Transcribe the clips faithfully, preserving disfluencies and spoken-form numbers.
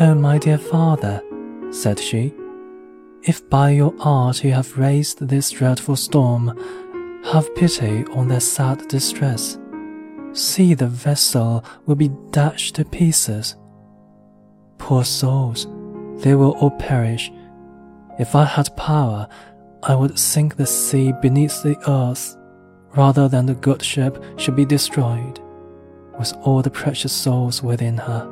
"Oh, my dear father," said she, "if by your art you have raised this dreadful storm, have pity on their sad distress. See, the vessel will be dashed to pieces. Poor souls, they will all perish. If I had power, I would sink the sea beneath the earth, rather than the good ship should be destroyed, with all the precious souls within her."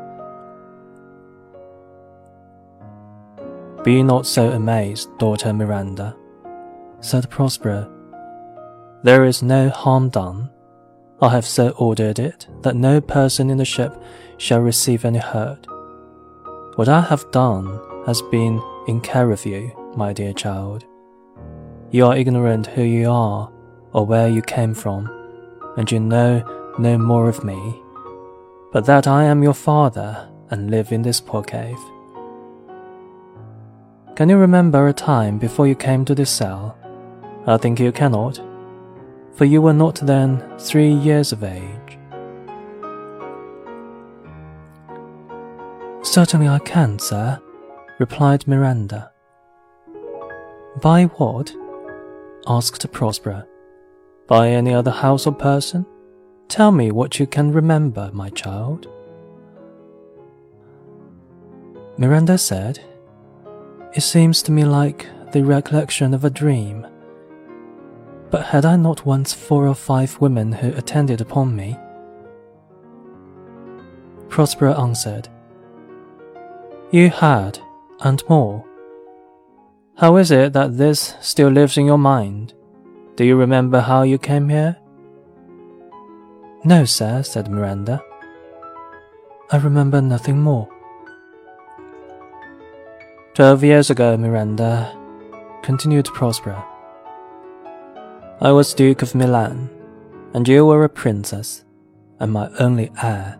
"Be not so amazed, daughter Miranda," said Prospero. "There is no harm done. I have so ordered it that no person in the ship shall receive any hurt. What I have done has been in care of you, my dear child. You are ignorant who you are or where you came from, and you know no more of me, but that I am your father and live in this poor cave. Can you remember a time before you came to this cell? I think you cannot, for you were not then three years of age." "Certainly I can, sir," replied Miranda. "By what?" asked Prospero. "By any other house or person? Tell me what you can remember, my child." Miranda said, "It seems to me like the recollection of a dream. But had I not once four or five women who attended upon me?" Prospero answered, "You had, and more. How is it that this still lives in your mind? Do you remember how you came here?" "No, sir," said Miranda. "I remember nothing more." Twelve years ago, Miranda," continued Prospero, "I was Duke of Milan, and you were a princess, and my only heir.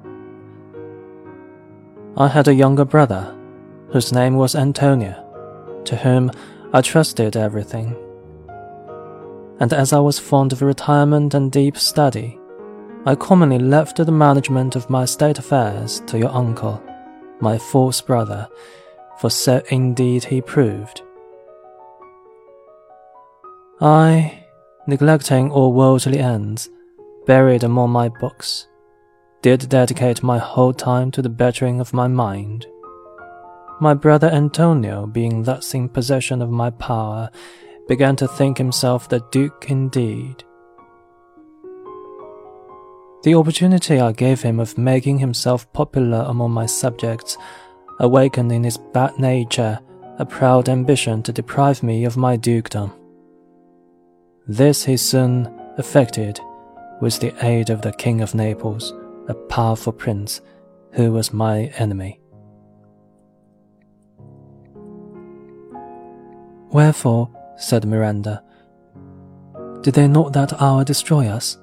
I had a younger brother, whose name was Antonio, to whom I trusted everything. And as I was fond of retirement and deep study, I commonly left the management of my state affairs to your uncle, my false brother, for so indeed he proved. I, neglecting all worldly ends, buried among my books, did dedicate my whole time to the bettering of my mind. My brother Antonio, being thus in possession of my power, began to think himself the duke indeed. The opportunity I gave him of making himself popular among my subjects awakened in his bad nature a proud ambition to deprive me of my dukedom. This he soon effected with the aid of the King of Naples, a powerful prince who was my enemy. Wherefore, said Miranda, did they not that hour destroy us?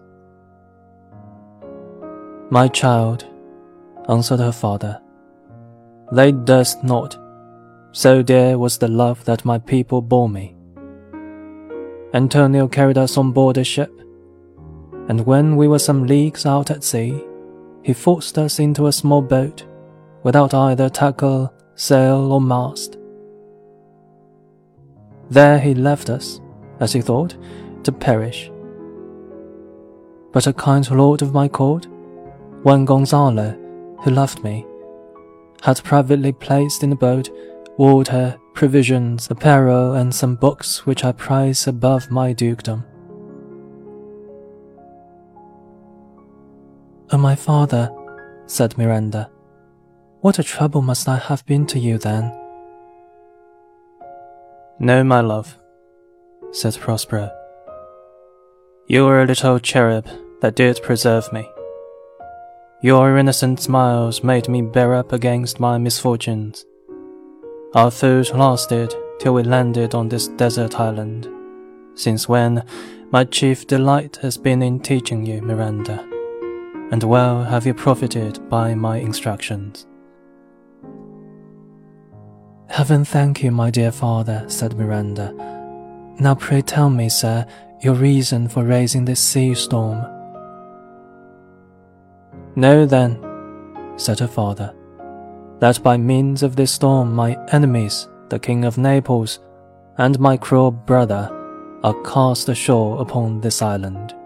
My child, answered her father, they durst not, so dear was the love that my people bore me. Antonio carried us on board a ship, and when we were some leagues out at sea, he forced us into a small boat, without either tackle, sail, or mast. There he left us, as he thought, to perish. But a kind lord of my court, one Gonzalo, who loved me, had privately placed in the boat water, provisions, apparel, and some books which I prize above my dukedom. Oh, my father, said Miranda, what a trouble must I have been to you then? No, my love, said Prospero. You were a little cherub that did preserve me. Your innocent smiles made me bear up against my misfortunes. Our food lasted till we landed on this desert island, since when my chief delight has been in teaching you, Miranda, and well have you profited by my instructions. Heaven thank you, my dear father, said Miranda. Now pray tell me, sir, your reason for raising this sea storm. Know then, said her father, that by means of this storm my enemies, the King of Naples, and my cruel brother, are cast ashore upon this island.